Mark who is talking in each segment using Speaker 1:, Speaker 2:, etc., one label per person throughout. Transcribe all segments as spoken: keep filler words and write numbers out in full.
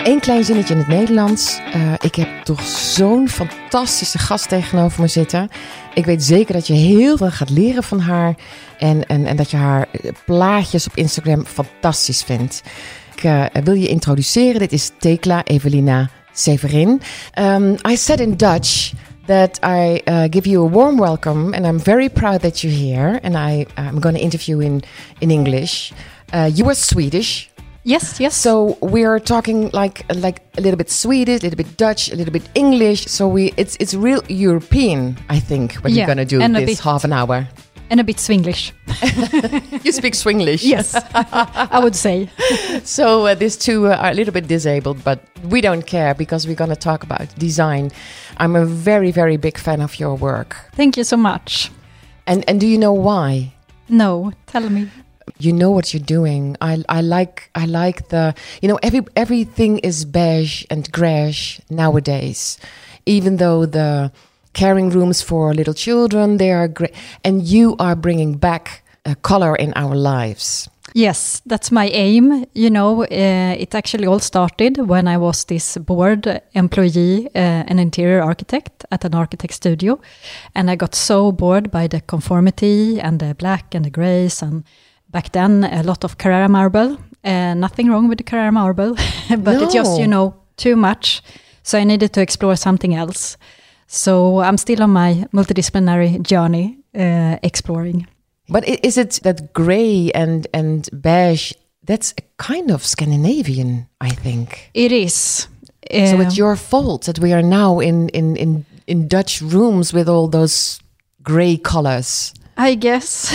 Speaker 1: Eén klein zinnetje in het Nederlands. Uh, ik heb toch zo'n fantastische gast tegenover me zitten. Ik weet zeker dat je heel veel gaat leren van haar. En, en, en dat je haar plaatjes op Instagram fantastisch vindt. Ik uh, wil je introduceren. Dit is Thekla Evelina Severin. Um, I said in Dutch that I uh, give you a warm welcome. And I'm very proud that you're here. And I, I'm going to interview in, in English. Uh, you are Swedish.
Speaker 2: Yes, yes.
Speaker 1: So we're talking like like a little bit Swedish, a little bit Dutch, a little bit English. So we it's it's real European, I think, when
Speaker 2: yeah,
Speaker 1: you're gonna do
Speaker 2: and
Speaker 1: this
Speaker 2: bit,
Speaker 1: half an hour.
Speaker 2: And a bit Swinglish.
Speaker 1: You speak Swinglish.
Speaker 2: Yes, I would say.
Speaker 1: So uh, these two uh, are a little bit disabled, but we don't care because we're gonna talk about design. I'm a very very big fan of your work.
Speaker 2: Thank you so much.
Speaker 1: And and do you know why?
Speaker 2: No, tell me.
Speaker 1: You know what you're doing. I I like I like the you know every everything is beige and greige nowadays, even though the caring rooms for little children they are great, and you are bringing back a color in our lives.
Speaker 2: Yes, that's my aim. You know, uh, it actually all started when I was this bored employee, uh, an interior architect at an architect studio, and I got so bored by the conformity and the black and the grays and. Back then, a lot of Carrara marble. Uh, nothing wrong with the Carrara marble, but
Speaker 1: no.
Speaker 2: it just, you know, too much. So I needed to explore something else. So I'm still on my multidisciplinary journey, uh, exploring.
Speaker 1: But is it that grey and, and beige, that's a kind of Scandinavian, I think.
Speaker 2: It is. Uh,
Speaker 1: so it's your fault that we are now in, in, in, in Dutch rooms with all those grey colors.
Speaker 2: I guess.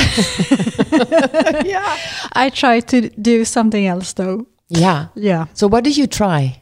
Speaker 2: Yeah. I try to do something else though.
Speaker 1: Yeah.
Speaker 2: Yeah.
Speaker 1: So what did you try?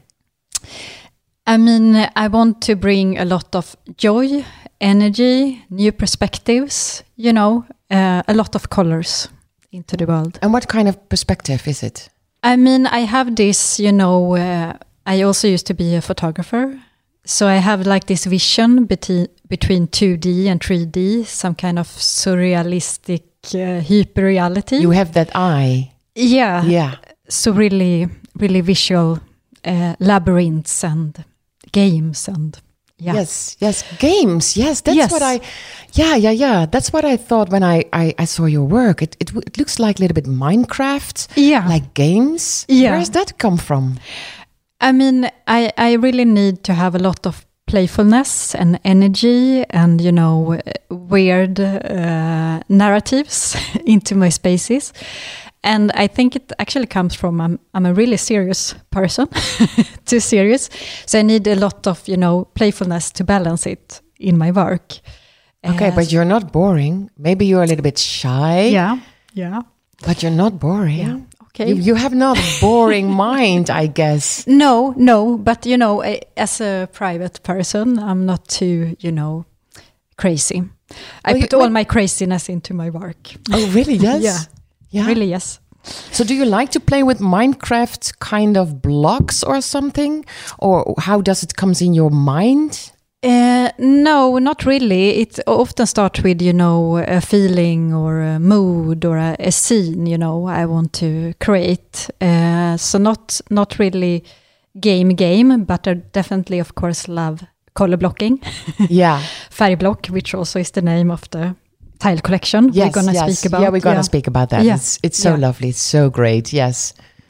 Speaker 2: I mean, I want to bring a lot of joy, energy, new perspectives, you know, uh, a lot of colors into the world.
Speaker 1: And what kind of perspective is it?
Speaker 2: I mean, I have this, you know, uh, I also used to be a photographer. So I have like this vision between between two D and three D, some kind of surrealistic uh, hyper-reality.
Speaker 1: You have that eye.
Speaker 2: Yeah.
Speaker 1: Yeah.
Speaker 2: So really, really visual uh, labyrinths and games and yeah.
Speaker 1: Yes, yes, games. Yes, that's
Speaker 2: yes.
Speaker 1: what I. Yeah, yeah, yeah. That's what I thought when I I, I saw your work. It, it it looks like a little bit Minecraft.
Speaker 2: Yeah.
Speaker 1: Like games.
Speaker 2: Yeah.
Speaker 1: Where does that come from?
Speaker 2: I mean, I, I really need to have a lot of playfulness and energy and, you know, weird uh, narratives into my spaces. And I think it actually comes from I'm, I'm a really serious person, too serious. So I need a lot of, you know, playfulness to balance it in my work.
Speaker 1: Okay, uh, but you're not boring. Maybe you're a little bit shy.
Speaker 2: Yeah, yeah.
Speaker 1: But you're not boring.
Speaker 2: Yeah. Okay.
Speaker 1: You, you have not a boring mind, I guess.
Speaker 2: No, no. But, you know, as a private person, I'm not too, you know, crazy. I
Speaker 1: well,
Speaker 2: put
Speaker 1: you,
Speaker 2: all my craziness into my work.
Speaker 1: Oh, really? Yes?
Speaker 2: Yeah. Yeah. Really, yes.
Speaker 1: So do you like to play with Minecraft kind of blocks or something? Or how does it come in your mind?
Speaker 2: Uh, no, not really. It often starts with, you know, a feeling or a mood or a, a scene, you know, I want to create. Uh, so not not really game game, but I definitely, of course, love color blocking.
Speaker 1: Yeah.
Speaker 2: Färgblock, which also is the name of the tile collection
Speaker 1: yes,
Speaker 2: we're going to
Speaker 1: yes.
Speaker 2: speak about.
Speaker 1: Yeah, we're going to
Speaker 2: yeah.
Speaker 1: speak about that.
Speaker 2: Yeah.
Speaker 1: It's, it's so
Speaker 2: yeah.
Speaker 1: lovely. It's so great. Yes.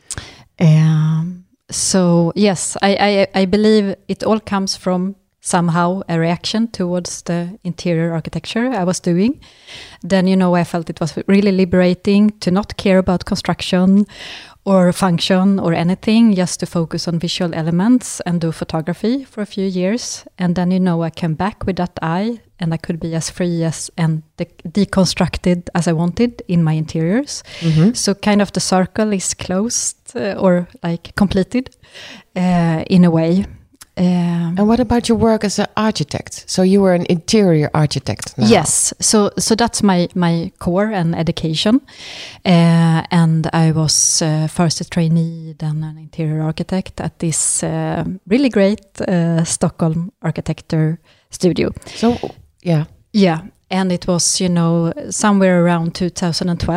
Speaker 2: Um, so, yes, I, I, I believe it all comes from somehow a reaction towards the interior architecture I was doing. Then, you know, I felt it was really liberating to not care about construction or function or anything, just to focus on visual elements and do photography for a few years. And then, you know, I came back with that eye and I could be as free as and de- deconstructed as I wanted in my interiors. Mm-hmm. So kind of the circle is closed uh, or like completed uh, in a way. Um,
Speaker 1: and what about your work as an architect? So you were an interior architect now.
Speaker 2: Yes, so so that's my, my core and education. Uh, and I was uh, first a trainee, then an interior architect at this uh, really great uh, Stockholm architecture studio.
Speaker 1: So, yeah.
Speaker 2: Yeah, and it was, you know, somewhere around two thousand twelve.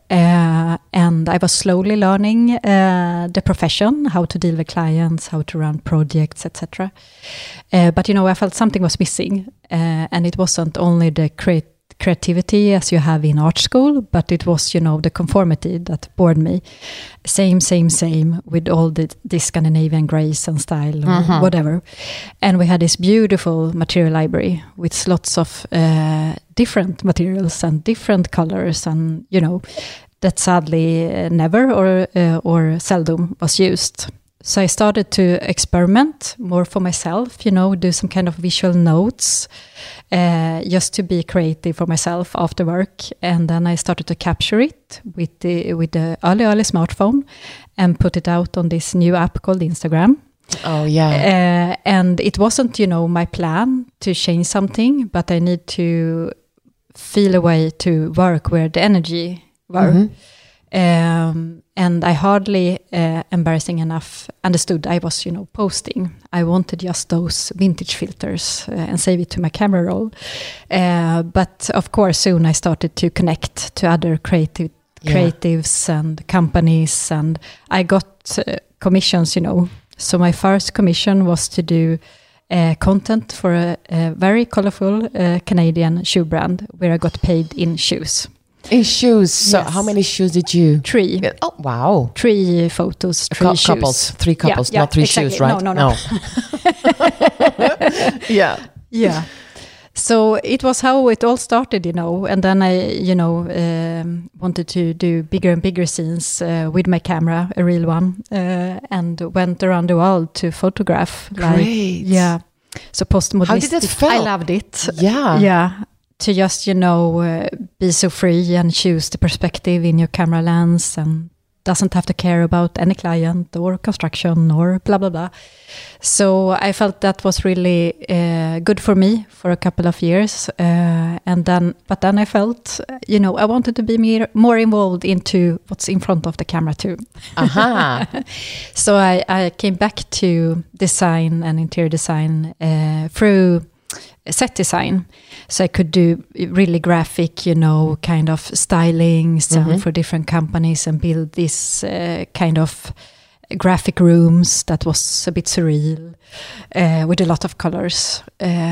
Speaker 2: Uh, and I was slowly learning uh, the profession, how to deal with clients, how to run projects, et cetera. Uh, but, you know, I felt something was missing. Uh, and it wasn't only the create creativity as you have in art school, but it was, you know, the conformity that bored me. Same, same, same with all the, the Scandinavian grace and style, mm-hmm. whatever. And we had this beautiful material library with lots of uh, different materials and different colors, and, you know, that sadly uh, never or uh, or seldom was used. So I started to experiment more for myself, you know, do some kind of visual notes, uh, just to be creative for myself after work. And then I started to capture it with the with the early, early smartphone and put it out on this new app called Instagram.
Speaker 1: Oh, yeah.
Speaker 2: Uh, and it wasn't, you know, my plan to change something, but I need to feel a way to work where the energy were. Mm-hmm. Um, and I hardly, uh, embarrassing enough, understood I was, you know, posting. I wanted just those vintage filters uh, and save it to my camera roll. Uh, but of course, soon I started to connect to other creative yeah. creatives and companies, and I got uh, commissions, you know. So my first commission was to do uh, content for a, a very colorful uh, Canadian shoe brand, where I got paid in shoes.
Speaker 1: In shoes. So
Speaker 2: yes.
Speaker 1: How many shoes did you?
Speaker 2: Three.
Speaker 1: Oh, wow.
Speaker 2: Three photos, three
Speaker 1: Co-
Speaker 2: shoes.
Speaker 1: Couples, three couples,
Speaker 2: yeah,
Speaker 1: not three
Speaker 2: exactly.
Speaker 1: shoes, right?
Speaker 2: No, no, no.
Speaker 1: no. yeah.
Speaker 2: Yeah. So it was how it all started, you know. And then I, you know, um, wanted to do bigger and bigger scenes uh, with my camera, a real one, uh, and went around the world to photograph.
Speaker 1: Great.
Speaker 2: Like, yeah. So postmodernistic.
Speaker 1: How did it feel?
Speaker 2: I loved it.
Speaker 1: Yeah.
Speaker 2: Yeah. To just, you know, uh, be so free and choose the perspective in your camera lens, and doesn't have to care about any client or construction or blah, blah, blah. So I felt that was really uh, good for me for a couple of years. Uh, and then, but then I felt, you know, I wanted to be more, more involved into what's in front of the camera too.
Speaker 1: Aha.
Speaker 2: So I, I came back to design and interior design uh, through set design. So I could do really graphic, you know, kind of stylings mm-hmm. for different companies and build this uh, kind of graphic rooms that was a bit surreal uh, with a lot of colors.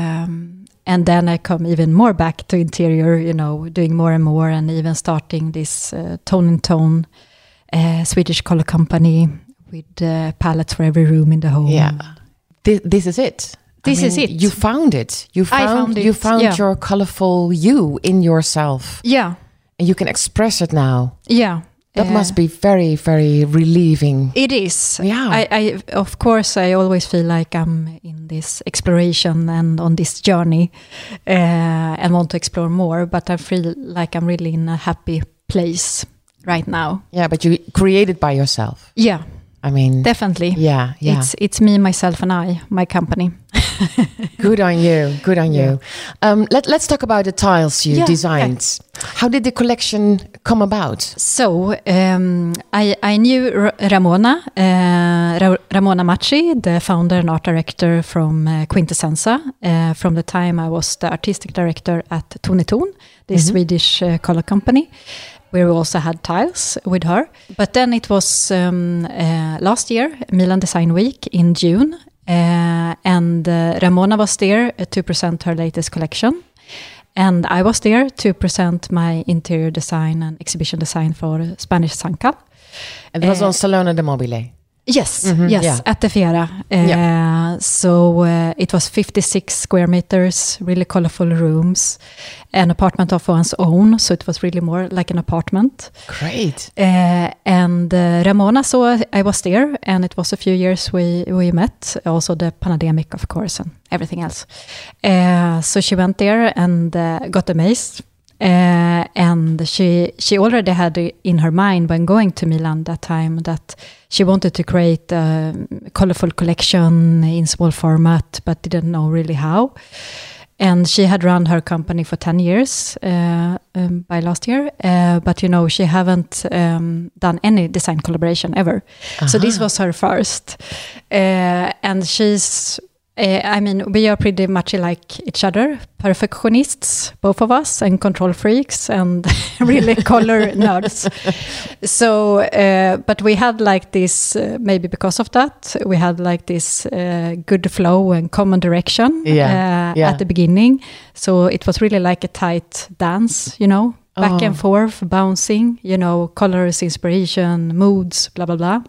Speaker 2: Um, and then I come even more back to interior, you know, doing more and more, and even starting this uh, Tone in Tone uh, Swedish color company with uh, palettes for every room in the home.
Speaker 1: Yeah, this, this is it.
Speaker 2: This
Speaker 1: I mean,
Speaker 2: is it.
Speaker 1: You found it. You found,
Speaker 2: I found it.
Speaker 1: You found
Speaker 2: yeah.
Speaker 1: your colorful you in yourself.
Speaker 2: Yeah.
Speaker 1: And you can express it now.
Speaker 2: Yeah.
Speaker 1: That
Speaker 2: uh,
Speaker 1: must be very, very relieving.
Speaker 2: It is.
Speaker 1: Yeah.
Speaker 2: I, I, of course, I always feel like I'm in this exploration and on this journey uh, and want to explore more, but I feel like I'm really in a happy place right now.
Speaker 1: Yeah, but you create it by yourself.
Speaker 2: Yeah.
Speaker 1: I mean,
Speaker 2: definitely.
Speaker 1: Yeah, yeah.
Speaker 2: It's it's me, myself, and I, my company.
Speaker 1: Good on you. Good on yeah. you. Um, let Let's talk about the tiles you
Speaker 2: yeah,
Speaker 1: designed. Yeah. How did the collection come about?
Speaker 2: So um, I I knew R- Ramona uh, Ra- Ramona Macci, the founder and art director from uh, Quintessenza, uh, from the time I was the artistic director at Tone in Tone, the mm-hmm. Swedish uh, color company, where we also had tiles with her. But then it was um, uh, last year, Milan Design Week in June, uh, and uh, Ramona was there to present her latest collection. And I was there to present my interior design and exhibition design for Spanish Sancal.
Speaker 1: And it was uh, on Salone de Mobile?
Speaker 2: Yes,
Speaker 1: mm-hmm,
Speaker 2: yes,
Speaker 1: yeah.
Speaker 2: at the Fiera. Uh,
Speaker 1: yeah.
Speaker 2: So uh, it was fifty-six square meters, really colorful rooms, an apartment of one's own. So it was really more like an apartment.
Speaker 1: Great.
Speaker 2: Uh, and uh, Ramona saw I was there, and it was a few years we, we met. Also the pandemic, of course, and everything else. Uh, so she went there and uh, got amazed. Uh, and she she already had in her mind when going to Milan that time that she wanted to create a colorful collection in small format, but didn't know really how. And she had run her company for ten years uh, um, by last year, uh, but you know she haven't um, done any design collaboration ever. Uh-huh. So this was her first, uh, and she's Uh, I mean, we are pretty much like each other, perfectionists, both of us, and control freaks, and really color nerds. So, uh, but we had like this, uh, maybe because of that, we had like this uh, good flow and common direction
Speaker 1: yeah.
Speaker 2: Uh,
Speaker 1: yeah.
Speaker 2: at the beginning. So it was really like a tight dance, you know, back
Speaker 1: oh.
Speaker 2: and forth, bouncing, you know, colors, inspiration, moods, blah, blah, blah.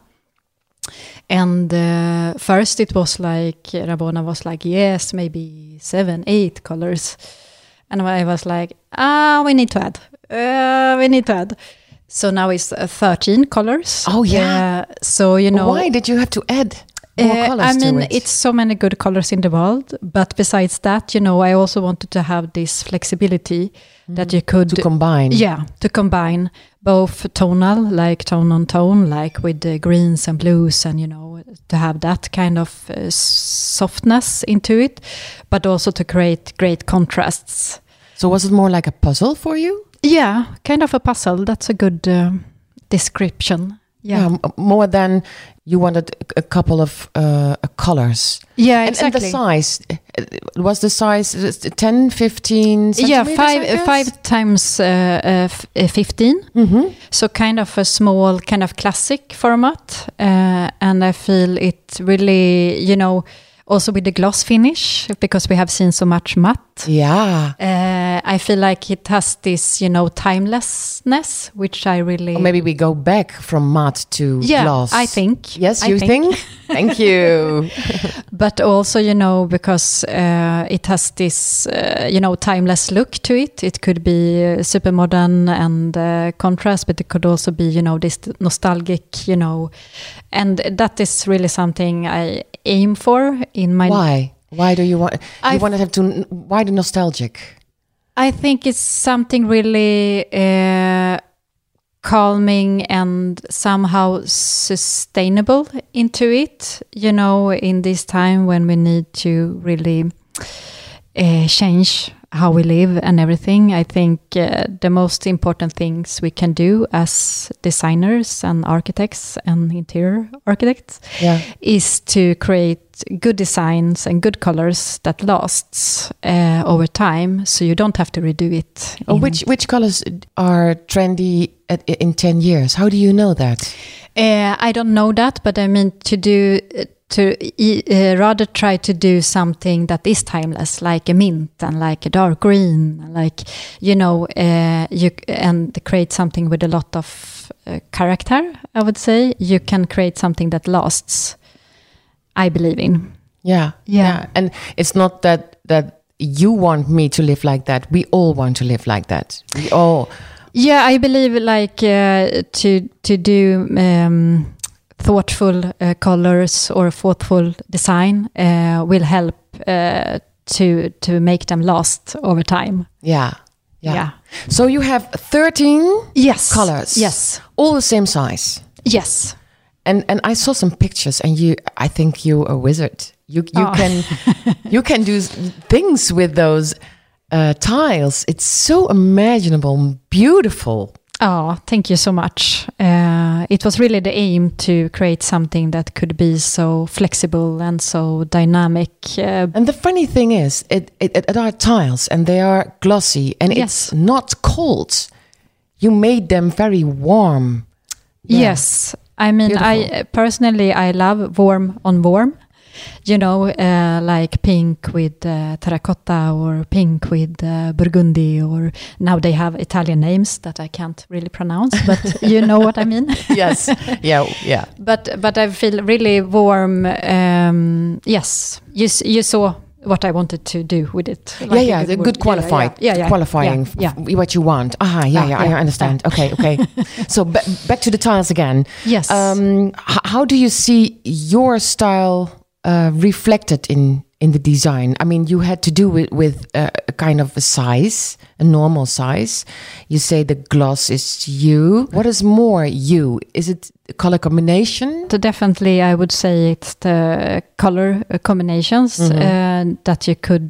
Speaker 2: And uh, first it was like, Rabona was like, yes, maybe seven, eight colors. And I was like, ah, we need to add. Uh, we need to add. So now it's uh, thirteen colors.
Speaker 1: Oh, yeah.
Speaker 2: Uh, so, you know.
Speaker 1: Why did you have to add more
Speaker 2: uh,
Speaker 1: colors
Speaker 2: I mean,
Speaker 1: to it?
Speaker 2: It's so many good colors in the world. But besides that, you know, I also wanted to have this flexibility mm. that you could.
Speaker 1: To combine.
Speaker 2: Yeah, to combine both tonal, like tone on tone, like with the greens and blues, and, you know, to have that kind of uh, softness into it, but also to create great contrasts.
Speaker 1: So was it more like a puzzle for you?
Speaker 2: Yeah, kind of a puzzle. That's a good uh, description. Yeah.
Speaker 1: yeah, more than you wanted a couple of uh, colors.
Speaker 2: Yeah,
Speaker 1: and,
Speaker 2: exactly.
Speaker 1: And the size, was the size ten, fifteen
Speaker 2: Yeah,
Speaker 1: centimeters?
Speaker 2: five, five times uh, uh, f- uh, fifteen.
Speaker 1: Mm-hmm.
Speaker 2: So kind of a small, kind of classic format. Uh, and I feel it really, you know, also with the gloss finish, because we have seen so much matte.
Speaker 1: Yeah.
Speaker 2: Uh, I feel like it has this, you know, timelessness, which I really...
Speaker 1: Or maybe we go back from matte to
Speaker 2: yeah,
Speaker 1: gloss.
Speaker 2: I think.
Speaker 1: Yes,
Speaker 2: I
Speaker 1: you
Speaker 2: think?
Speaker 1: think? Thank you.
Speaker 2: But also, you know, because uh, it has this, uh, you know, timeless look to it. It could be uh, super modern and uh, contrast, but it could also be, you know, this nostalgic, you know, and that is really something I aim for in my...
Speaker 1: Why? Why do you want... You
Speaker 2: I've,
Speaker 1: want to have to... Why the nostalgic?
Speaker 2: I think it's something really uh, calming and somehow sustainable into it, you know, in this time when we need to really uh, change how we live and everything. I think uh, the most important things we can do as designers and architects and interior architects
Speaker 1: yeah.
Speaker 2: is to create good designs and good colors that lasts uh, over time, so you don't have to redo it.
Speaker 1: Oh, which which colors are trendy at, in ten years? How do you know that?
Speaker 2: Uh, I don't know that, but I mean to do... Uh, to uh, rather try to do something that is timeless, like a mint and like a dark green, like, you know, uh, you and create something with a lot of uh, character, I would say. You can create something that lasts, I believe in.
Speaker 1: Yeah,
Speaker 2: yeah.
Speaker 1: yeah. And it's not that, that you want me to live like that. We all want to live like that. We all...
Speaker 2: Yeah, I believe like uh, to, to do... Um, thoughtful uh, colors or thoughtful design uh, will help uh, to to make them last over time.
Speaker 1: Yeah, yeah.
Speaker 2: yeah.
Speaker 1: So you have thirteen
Speaker 2: yes.
Speaker 1: colors.
Speaker 2: Yes.
Speaker 1: All the same size.
Speaker 2: Yes.
Speaker 1: And and I saw some pictures, and you, I think you're a wizard. You you
Speaker 2: oh.
Speaker 1: can you can do things with those uh, tiles. It's so imaginable, beautiful.
Speaker 2: Oh, thank you so much. Uh, it was really the aim to create something that could be so flexible and so dynamic. Uh,
Speaker 1: and the funny thing is, it, it, it are tiles and they are glossy and
Speaker 2: yes.
Speaker 1: it's not cold. You made them very warm.
Speaker 2: Yeah. Yes. I mean, Beautiful. I personally, I love warm on warm. You know, uh, like pink with uh, terracotta or pink with uh, burgundy, or now they have Italian names that I can't really pronounce, but you know what I mean?
Speaker 1: Yes, yeah, yeah.
Speaker 2: But but I feel really warm. Um, yes, you you saw what I wanted to do with it.
Speaker 1: Like yeah, yeah, the good qualified,
Speaker 2: yeah, yeah, yeah,
Speaker 1: qualifying
Speaker 2: yeah, yeah.
Speaker 1: what you want. Ah, yeah, yeah, yeah, I understand. Yeah. Okay, okay. So b- back to the tiles again.
Speaker 2: Yes.
Speaker 1: Um, h- how do you see your style Uh, reflected in in the design? I mean, you had to do it with uh, a kind of a size, a normal size. You say the gloss is you. What is more you? Is it color combination?
Speaker 2: So definitely, I would say it's the color combinations mm-hmm. uh, that you could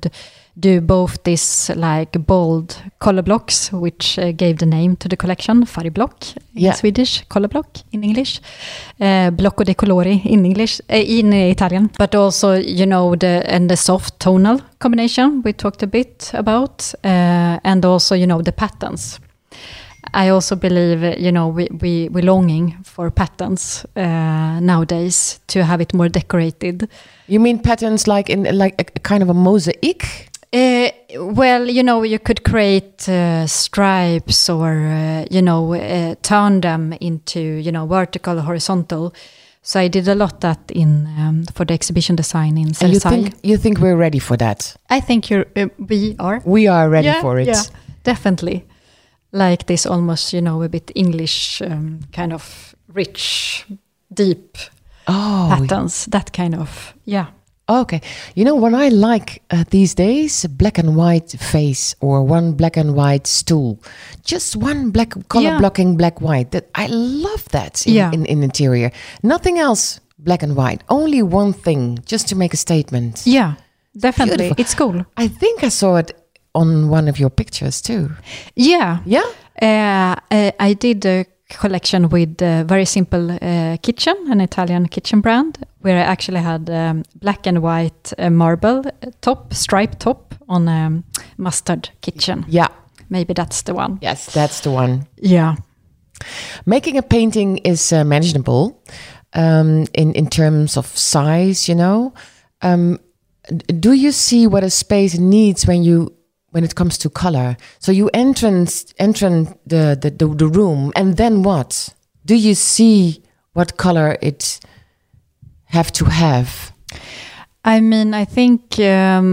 Speaker 2: do both this like bold color blocks, which uh, gave the name to the collection, Färgblock in
Speaker 1: Yeah.
Speaker 2: Swedish, color block in English, uh, blocco dei colori in English, uh, in Italian. But also, you know, the and the soft tonal combination we talked a bit about, uh, and also, you know, the patterns. I also believe, you know, we we we're longing for patterns uh, nowadays to have it more decorated.
Speaker 1: You mean patterns like in like a, a kind of a mosaic?
Speaker 2: Uh, well, you know, you could create uh, stripes or, uh, you know, uh, turn them into, you know, vertical, horizontal. So I did a lot that in um, for the exhibition design in
Speaker 1: And you
Speaker 2: Cersei.
Speaker 1: think you think we're ready for that?
Speaker 2: I think you're, uh, we are.
Speaker 1: We are ready
Speaker 2: Yeah,
Speaker 1: for it.
Speaker 2: yeah, definitely. Like this almost, you know, a bit English um, kind of rich, deep
Speaker 1: Oh,
Speaker 2: patterns. That kind of, yeah.
Speaker 1: okay. You know what I like uh, these days? A black and white face or one black and white stool. Just one black color
Speaker 2: Yeah.
Speaker 1: blocking black white. That I love that in,
Speaker 2: Yeah.
Speaker 1: in, in interior. Nothing else black and white. Only one thing just to make a statement.
Speaker 2: Yeah, definitely.
Speaker 1: Beautiful.
Speaker 2: It's cool.
Speaker 1: I think I saw it on one of your pictures too.
Speaker 2: Yeah.
Speaker 1: Yeah?
Speaker 2: Uh, uh, I did a collection with a very simple uh, kitchen, an Italian kitchen brand, where I actually had um, black and white uh, marble top, striped top on a mustard kitchen.
Speaker 1: Yeah.
Speaker 2: Maybe that's the one.
Speaker 1: Yes, that's the one.
Speaker 2: Yeah.
Speaker 1: Making a painting is uh, manageable um, in, in terms of size, you know. Um, d- do you see what a space needs when you when it comes to color? So you entrance enter the, the, the, the room, and then what? Do you see what color it have to have?
Speaker 2: I mean, I think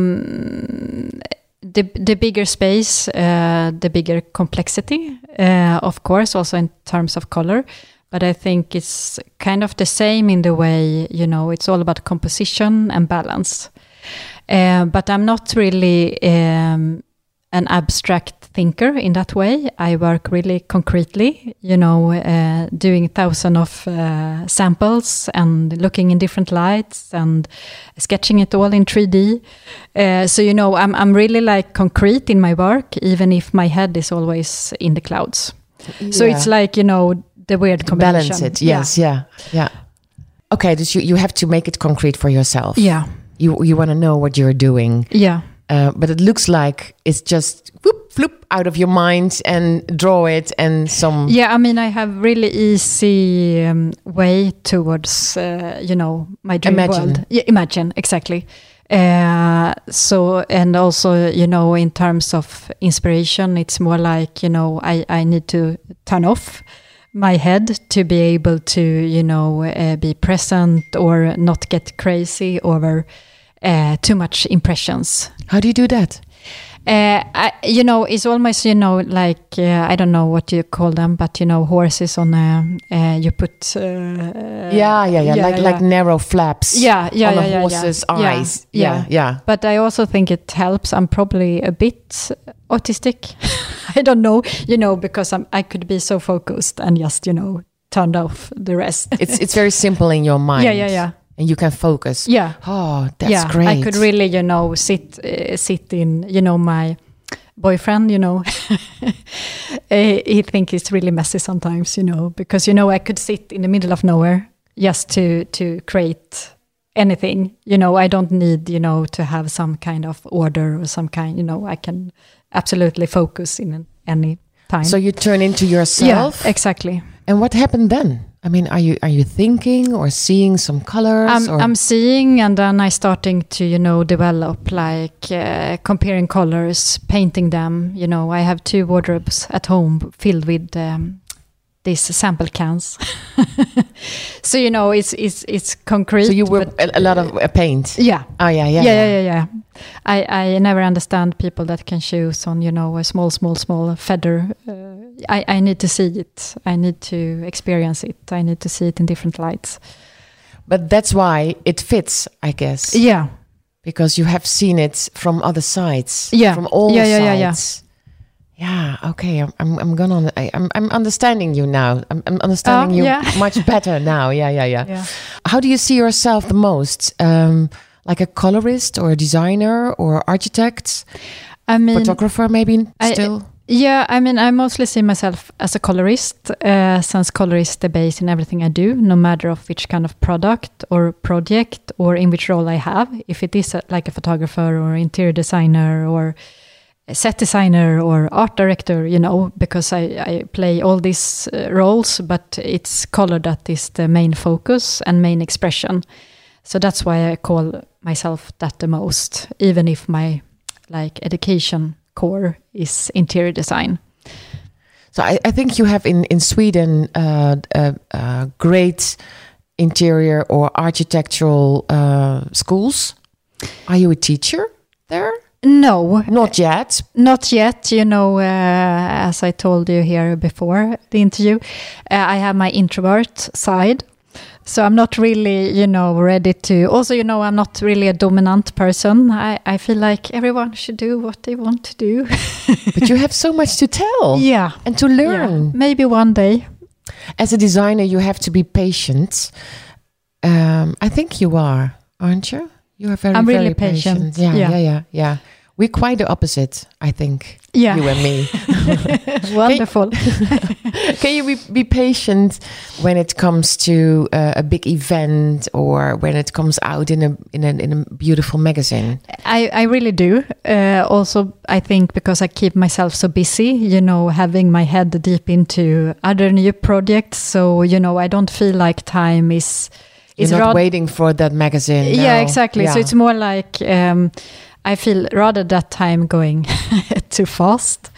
Speaker 2: um, the the bigger space, uh, the bigger complexity, uh, of course, also in terms of color. But I think it's kind of the same in the way, you know, it's all about composition and balance. Uh, but I'm not really um, an abstract thinker in that way. I work really concretely, you know, uh, doing thousands of uh, samples and looking in different lights and sketching it all in three D. Uh, so, you know, I'm I'm really like concrete in my work, even if my head is always in the clouds. So
Speaker 1: Yeah.
Speaker 2: it's like, you know, the weird
Speaker 1: To
Speaker 2: combination.
Speaker 1: balance it, yes, yeah, yeah. Okay, dus you, you have to make it concrete for yourself.
Speaker 2: Yeah.
Speaker 1: You you want to know what you're doing.
Speaker 2: Yeah.
Speaker 1: Uh, but it looks like it's just whoop, floop out of your mind and draw it and some...
Speaker 2: Yeah, I mean, I have really easy um, way towards, uh, you know, my dream
Speaker 1: Imagine.
Speaker 2: world. Yeah, imagine, exactly. Uh, so, and also, you know, in terms of inspiration, it's more like, you know, I, I need to turn off my head to be able to, you know, uh, be present or not get crazy over uh, too much impressions.
Speaker 1: How do you do that?
Speaker 2: Uh, I, you know, it's almost, you know, like, uh, I don't know what you call them, but, you know, horses on a, uh, you put... Uh,
Speaker 1: Yeah, yeah, yeah, like
Speaker 2: yeah.
Speaker 1: like narrow flaps
Speaker 2: Yeah, yeah,
Speaker 1: on
Speaker 2: yeah,
Speaker 1: a
Speaker 2: yeah,
Speaker 1: horse's
Speaker 2: yeah.
Speaker 1: eyes.
Speaker 2: Yeah,
Speaker 1: Yeah, yeah.
Speaker 2: But I also think it helps. I'm probably a bit autistic. I don't know, you know, because I'm, I could be so focused and just, you know, turned off the rest.
Speaker 1: It's it's very simple in your mind.
Speaker 2: Yeah, yeah, yeah.
Speaker 1: And you can focus.
Speaker 2: Yeah.
Speaker 1: Oh, that's
Speaker 2: yeah,
Speaker 1: great.
Speaker 2: I could really, you know, sit uh, sit in, you know, my boyfriend, you know, uh, he think it's really messy sometimes, you know, because, you know, I could sit in the middle of nowhere just to to create anything, you know. I don't need, you know, to have some kind of order or some kind, you know, I can absolutely focus in any time.
Speaker 1: So you turn into yourself.
Speaker 2: Yeah, exactly.
Speaker 1: And what happened then? I mean, are you are you thinking or seeing some colors?
Speaker 2: I'm,
Speaker 1: or?
Speaker 2: I'm seeing, and then I starting to, you know, develop like uh, comparing colors, painting them. You know, I have two wardrobes at home filled with um, these sample cans. So, you know, it's it's it's concrete.
Speaker 1: So you were
Speaker 2: but-
Speaker 1: a, a lot of uh, paint.
Speaker 2: yeah.
Speaker 1: Oh yeah, yeah,
Speaker 2: Yeah, yeah, yeah, yeah. I, I never understand people that can choose on, you know, a small, small, small feather. Uh, I, I need to see it. I need to experience it. I need to see it in different lights.
Speaker 1: But that's why it fits, I guess.
Speaker 2: Yeah.
Speaker 1: Because you have seen it from other sides.
Speaker 2: Yeah.
Speaker 1: From all
Speaker 2: Yeah, yeah, yeah,
Speaker 1: sides. Yeah. Yeah. Okay. I'm. I'm. I'm gonna. I, I'm. I'm understanding you now. I'm. I'm understanding
Speaker 2: Oh,
Speaker 1: you
Speaker 2: yeah.
Speaker 1: much better now. Yeah. Yeah. Yeah.
Speaker 2: Yeah.
Speaker 1: How do you see yourself the most? Um, like a colorist or a designer or architect?
Speaker 2: I mean,
Speaker 1: photographer maybe
Speaker 2: I,
Speaker 1: still?
Speaker 2: Yeah, I mean, I mostly see myself as a colorist, uh, since color is the base in everything I do, no matter of which kind of product or project or in which role I have. If it is a, like a photographer or interior designer or a set designer or art director, you know, because I, I play all these uh, roles, but it's color that is the main focus and main expression. So that's why I call myself that the most, even if my like education core is interior design.
Speaker 1: So I, I think you have in, in Sweden uh, uh, uh, great interior or architectural uh, schools. Are you a teacher there?
Speaker 2: No.
Speaker 1: Not yet.
Speaker 2: Not yet. You know, uh, as I told you here before the interview, uh, I have my introvert side. So I'm not really, you know, ready to... Also, you know, I'm not really a dominant person. I, I feel like everyone should do what they want to do.
Speaker 1: But you have so much to tell.
Speaker 2: Yeah.
Speaker 1: And to learn.
Speaker 2: Yeah. Maybe one day.
Speaker 1: As a designer, you have to be patient. Um, I think you are, aren't you? You are very,
Speaker 2: I'm
Speaker 1: very
Speaker 2: really patient.
Speaker 1: patient. Yeah, yeah,
Speaker 2: yeah,
Speaker 1: yeah, yeah. We're quite the opposite, I think.
Speaker 2: Yeah.
Speaker 1: You and me.
Speaker 2: Wonderful.
Speaker 1: Can you be, be patient when it comes to uh, a big event or when it comes out in a in a, in a beautiful magazine?
Speaker 2: I, I really do. Uh, also, I think because I keep myself so busy, you know, having my head deep into other new projects. So, you know, I don't feel like time is... is
Speaker 1: You're not
Speaker 2: rod-
Speaker 1: waiting for that magazine.
Speaker 2: Yeah,
Speaker 1: no.
Speaker 2: exactly.
Speaker 1: Yeah.
Speaker 2: So it's more like... Um, I feel rather that time going too fast.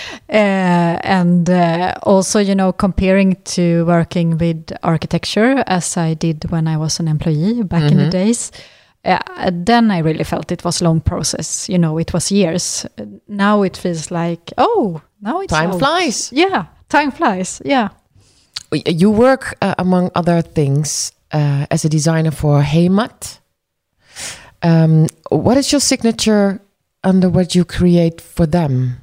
Speaker 2: Uh, and uh, also, you know, comparing to working with architecture as I did when I was an employee back mm-hmm. in the days, uh, then I really felt it was a long process. You know, it was years. Now it feels like, oh, now it's
Speaker 1: Time
Speaker 2: out.
Speaker 1: flies.
Speaker 2: Yeah, time flies. Yeah.
Speaker 1: You work, uh, among other things, uh, as a designer for Heimat. Um, what is your signature under what you create for them?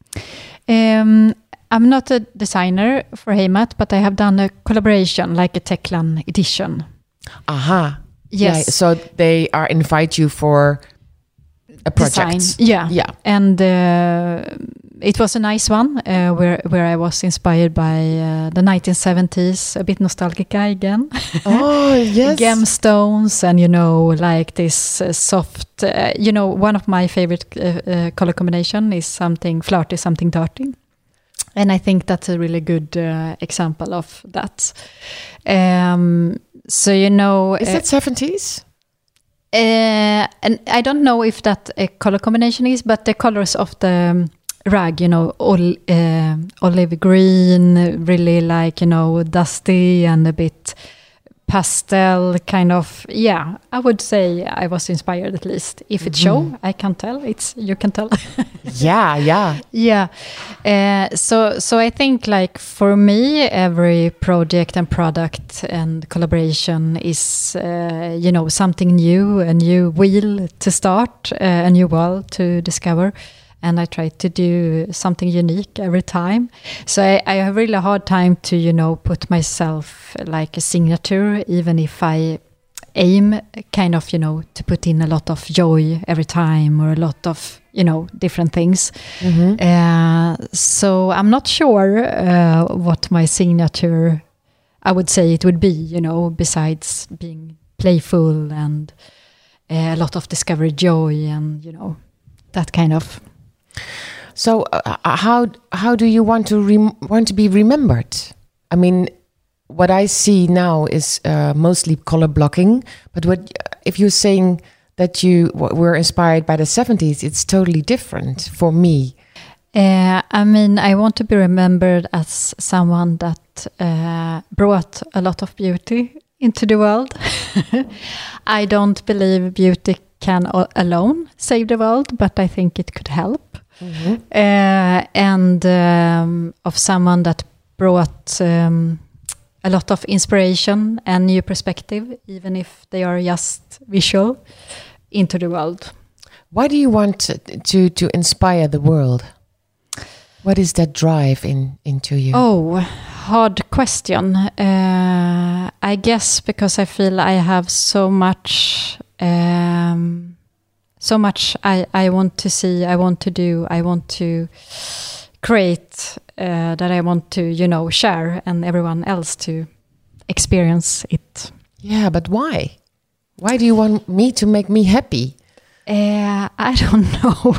Speaker 2: Um, I'm not a designer for Heimat, but I have done a collaboration, like a Techlan edition.
Speaker 1: Aha.
Speaker 2: Yes.
Speaker 1: Yeah, so they are invite you for a project.
Speaker 2: Design. Yeah.
Speaker 1: Yeah.
Speaker 2: And uh, it was a nice one uh, where where I was inspired by uh, the nineteen seventies, a bit nostalgica again.
Speaker 1: Oh, yes.
Speaker 2: Gemstones and, you know, like this uh, soft, uh, you know, one of my favorite uh, uh, color combination is something flirty, something dirty. And I think that's a really good uh, example of that. Um, so, you know...
Speaker 1: Is
Speaker 2: uh,
Speaker 1: it seventies?
Speaker 2: Uh, and I don't know if that a color combination is, but the colors of the um, rag, you know, ol- uh, olive green, really like, you know, dusty and a bit pastel kind of. Yeah, I would say I was inspired at least. If it mm-hmm. show, I can't tell. It's you can tell.
Speaker 1: yeah, yeah,
Speaker 2: yeah. Uh, so, so I think like for me, every project and product and collaboration is, uh, you know, something new, a new wheel to start, uh, a new world to discover. And I try to do something unique every time. So I, I have really a hard time to, you know, put myself like a signature, even if I aim kind of, you know, to put in a lot of joy every time or a lot of, you know, different things. Mm-hmm. Uh, so I'm not sure uh, what my signature, I would say it would be, you know, besides being playful and uh, a lot of discovery joy and, you know, that kind of...
Speaker 1: So, uh, how how do you want to rem- want to be remembered? I mean, what I see now is uh, mostly color blocking. But what if you're saying that you were inspired by the seventies? It's totally different for me.
Speaker 2: Uh, I mean, I want to be remembered as someone that uh, brought a lot of beauty into the world. I don't believe beauty can o- alone save the world, but I think it could help. Mm-hmm. Uh, and um, of someone that brought um, a lot of inspiration and new perspective, even if they are just visual, into the world.
Speaker 1: Why do you want to to, to inspire the world? What is that drive in into you?
Speaker 2: Oh, hard question. Uh, I guess because I feel I have so much Um, so much I, I want to see, I want to do, I want to create, uh, that I want to, you know, share and everyone else to experience it.
Speaker 1: Yeah, but why? Why do you want me to make me happy?
Speaker 2: Uh, I don't know.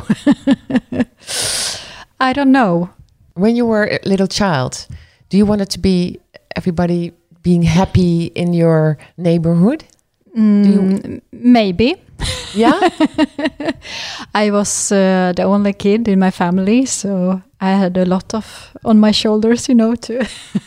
Speaker 2: I don't know.
Speaker 1: When you were a little child, do you want it to be everybody being happy in your neighborhood?
Speaker 2: Mm,
Speaker 1: do you...
Speaker 2: Maybe.
Speaker 1: Yeah?
Speaker 2: I was uh, the only kid in my family, so I had a lot of on my shoulders, you know, to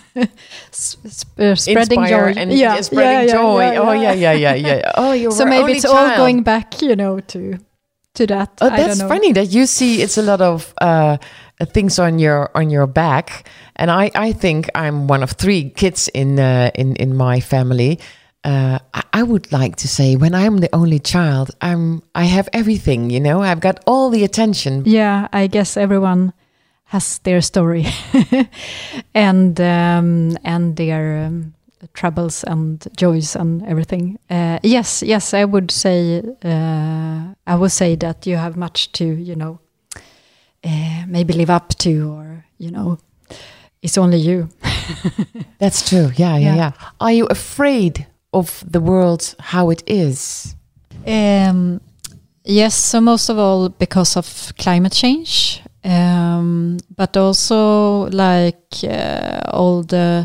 Speaker 2: sp- uh, spreading
Speaker 1: Inspire
Speaker 2: joy.
Speaker 1: and
Speaker 2: yeah,
Speaker 1: spreading
Speaker 2: yeah,
Speaker 1: joy.
Speaker 2: Yeah, yeah,
Speaker 1: oh,
Speaker 2: yeah,
Speaker 1: yeah, yeah, yeah, yeah. Oh, you
Speaker 2: so
Speaker 1: were
Speaker 2: maybe
Speaker 1: only
Speaker 2: it's
Speaker 1: child.
Speaker 2: all going back, you know, to to that.
Speaker 1: Oh,
Speaker 2: I
Speaker 1: that's
Speaker 2: don't know.
Speaker 1: funny that you see it's a lot of uh, things on your on your back, and I, I think I'm one of three kids in uh, in in my family. Uh, I, I would like to say when I'm the only child, I'm I have everything. You know, I've got all the attention.
Speaker 2: Yeah, I guess everyone has their story and um, and their um, troubles and joys and everything. Uh, yes, yes, I would say uh, I would say that you have much to, you know, uh, maybe live up to, or you know, it's only you.
Speaker 1: That's true. Yeah, yeah,
Speaker 2: Yeah.
Speaker 1: yeah. Are you afraid of the world how it is?
Speaker 2: Um, yes, so most of all because of climate change, um, but also like uh, all the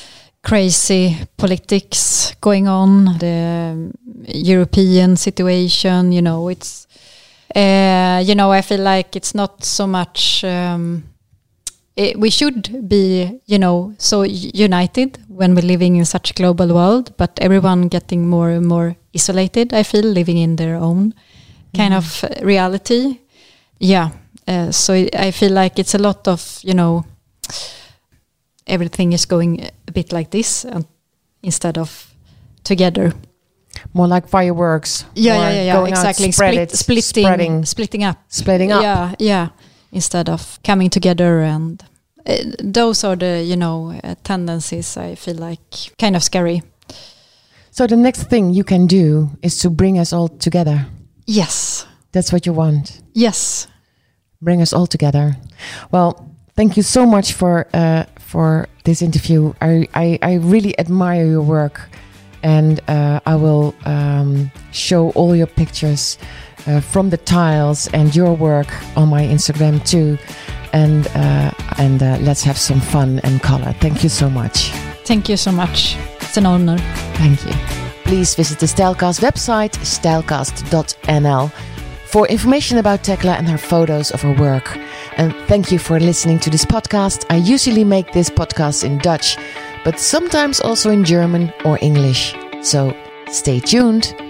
Speaker 2: crazy politics going on, the European situation, you know, it's, uh, you know, I feel like it's not so much, um, it, we should be, you know, so united when we're living in such a global world, but everyone getting more and more isolated, I feel, living in their own kind
Speaker 1: Mhm.
Speaker 2: of reality. Yeah. Uh, so I feel like it's a lot of, you know, everything is going a bit like this uh, instead of together.
Speaker 1: More like fireworks.
Speaker 2: Yeah,
Speaker 1: more
Speaker 2: yeah, yeah, yeah,
Speaker 1: going out,
Speaker 2: exactly.
Speaker 1: spread
Speaker 2: Split,
Speaker 1: it,
Speaker 2: splitting,
Speaker 1: spreading,
Speaker 2: splitting up.
Speaker 1: splitting up.
Speaker 2: Yeah, yeah. Instead of coming together, and uh, those are the, you know, uh, tendencies I feel like kind of scary.
Speaker 1: So the next thing you can do is to bring us all together.
Speaker 2: Yes.
Speaker 1: That's what you want.
Speaker 2: Yes.
Speaker 1: Bring us all together. Well, thank you so much for uh, for this interview. I, I, I really admire your work, and uh, I will um, show all your pictures uh, from the tiles and your work on my Instagram too. And uh, and uh, let's have some fun and color. Thank you so much.
Speaker 2: Thank you so much. It's an honor.
Speaker 1: Thank you. Please visit the Stylecast website, stylecast dot n l, for information about Tekla and her photos of her work. And thank you for listening to this podcast. I usually make this podcast in Dutch, but sometimes also in German or English. So stay tuned.